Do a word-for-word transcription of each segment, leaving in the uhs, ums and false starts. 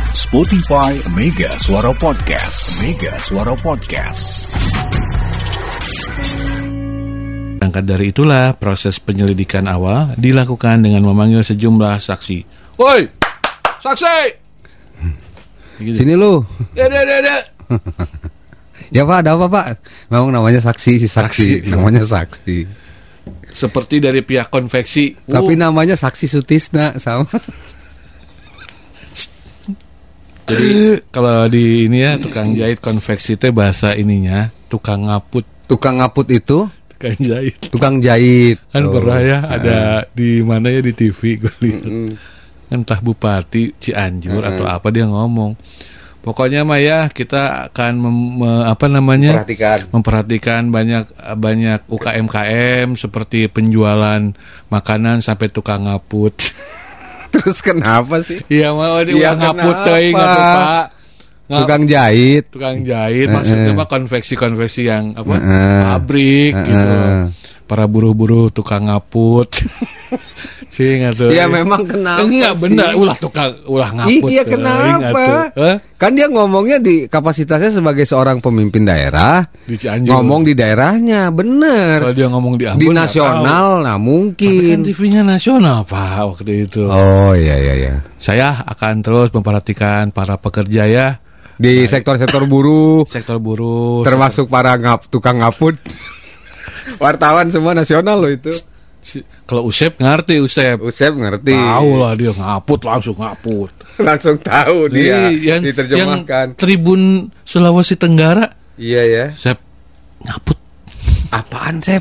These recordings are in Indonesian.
Spotify Mega Suara Podcast. Mega Suara Podcast. Berangkat dari itulah, proses penyelidikan awal dilakukan dengan memanggil sejumlah saksi. Woi, saksi! Gitu. Sini lu. Ya, ya, ya, ya. Ya Pak, ada apa Pak? Memang namanya saksi, si saksi. saksi. Namanya saksi. Seperti dari pihak konveksi. Tapi uh. namanya saksi Sutisna sama. Jadi kalau di ini ya, tukang jahit konveksi itu bahasa ininya tukang ngaput. Tukang ngaput itu? Tukang jahit. Tukang jahit. Kan oh. pernah ya ada uh. di mana ya di T V gue lihat. Mm-hmm. Entah Bupati Cianjur uh-huh. atau apa dia ngomong. Pokoknya mah ya kita akan mem, me, apa namanya? Memperhatikan. Memperhatikan banyak banyak U K M K M seperti penjualan makanan sampai tukang ngaput. Terus kenapa sih? Iya mau di ya, ngaput teuing atuh Pak. Ngap, tukang jahit. Tukang jahit maksudnya mah konveksi-konveksi yang apa? Uh-uh. Pabrik uh-uh. gitu. Para buruh-buruh tukang ngaput. Sing atuh. Ya memang kenapa? Enggak sih? benar, ulah tukang ulah ngaput. Iya kenapa? Huh? Kan dia ngomongnya di kapasitasnya sebagai seorang pemimpin daerah. Di Cianjur. Ngomong di daerahnya, bener. Kalau dia ngomong di Ambon di nasional, nah mungkin. Tapi kan T V-nya nasional Pak waktu itu. Oh iya iya iya. Saya akan terus memperhatikan para pekerja ya. Di baik. sektor-sektor buruh. Sektor buruh. Termasuk sektor... para ngap, tukang ngaput. Wartawan semua nasional loh itu. Si, kalau Usep ngerti Usep. Usep ngerti. Tahu lah dia ngaput langsung ngaput. Langsung tahu dia. Yang, diterjemahkan. Yang Tribun Sulawesi Tenggara. Iya ya. Sep ngaput. Apaan Sep?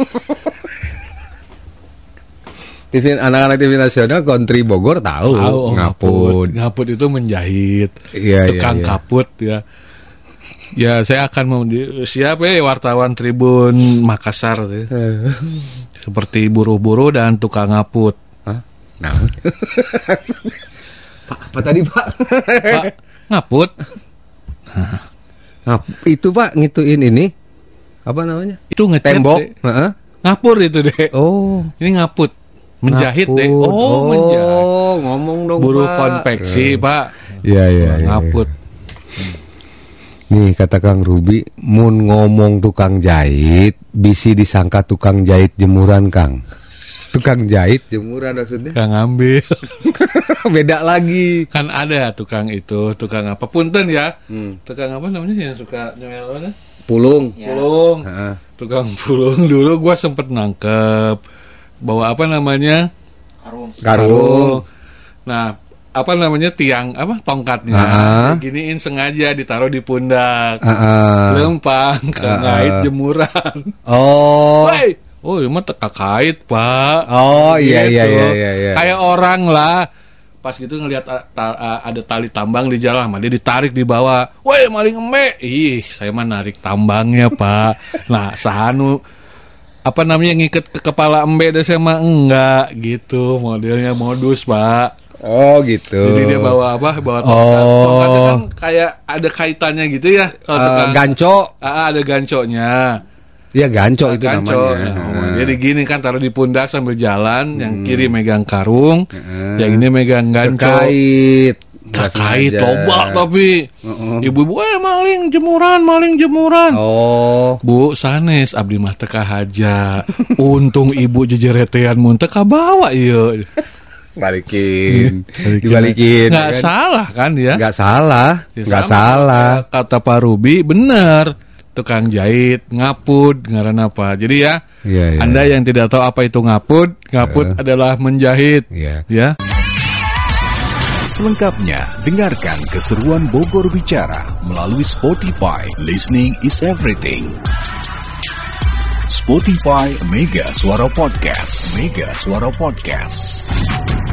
T V anak-anak T V nasional Country Bogor tahu, tahu oh, ngaput. Ngaput itu menjahit. Iya, tukang iya, iya. kaput ya. Ya saya akan mem- siapa ya wartawan Tribun Makassar ya. Seperti buruh-buruh dan tukang ngaput. Hah? Nah. Pak, apa tadi Pak? Pak, ngaput. Nah, itu Pak ngituin ini. Apa namanya? Itu ngecat tembok. Uh-huh. Ngapur itu deh. Oh, ini ngaput. Menjahit ngaput. deh. Oh, oh menjahit. Ngomong dong buruh Pak. konveksi, uh. Pak. Iya, iya, iya. Ngaput. Nih kata Kang Ruby, mun ngomong tukang jahit, bisi disangka tukang jahit jemuran Kang. Tukang jahit jemuran maksudnya? Tukang ambil. Beda lagi. Kan ada tukang itu, tukang apa? Punten ya. Hmm. Tukang apa namanya yang suka nyemel apa? Pulung. Ya. Pulung. Ha-ha. Tukang pulung dulu gua sempet nangkep. Bawa apa namanya? Karung. Karung. Nah, apa namanya tiang apa tongkatnya uh-huh. giniin sengaja ditaruh di pundak uh-huh. lempang kengait uh-huh. jemuran. Oh. Wey. Oh, ini mah teka kait Pak. Oh gitu. iya, iya iya iya iya. Kayak orang lah. Pas gitu ngelihat ta- ada tali tambang di jalan, mah dia ditarik di bawah. Woi, maling eme. Ih, saya mah narik tambangnya Pak. Nah, sahanu apa namanya ngiket ke kepala embe dah saya mah enggak gitu modelnya modus Pak. Oh gitu. Jadi dia bawa apa? Bawa tongkat. Oh. Tongkatnya kan kayak ada kaitannya gitu ya. Kalau uh, tukang ganco. Ah, ada gancoknya. Iya ganco nah, itu ganco. namanya. Nah, jadi gini kan taruh di pundak sambil jalan, hmm. yang kiri megang karung, hmm. yang ini megang ganco. Kait. Kait toba tapi. Uh-uh. Ibu-ibu eh maling jemuran, maling jemuran. Oh. Bu sanes abdi mah teka haja. Untung ibu jejeretean mun teka bawa ieu. Balikin, dibalikin. Nggak kan? salah kan ya? Nggak salah, ya, nggak salah. Kata Pak Ruby benar. Tukang jahit, ngaput, ngaran apa? Jadi ya, ya, ya Anda ya. yang tidak tahu apa itu ngaput, ngaput uh. adalah menjahit. Ya. Ya. Selengkapnya, dengarkan keseruan Bogor Bicara melalui Spotify. Listening is everything. Spotify Mega Suara Podcast. Mega Suara Podcast.